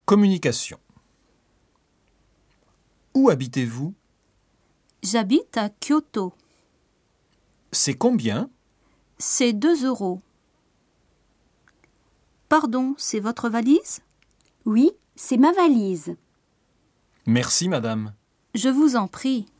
Communication. Où habitez-vous? J'habite à Kyoto. C'est combien? C'est 2 €. Pardon, c'est votre valise? Oui, c'est ma valise. Merci, madame. Je vous en prie.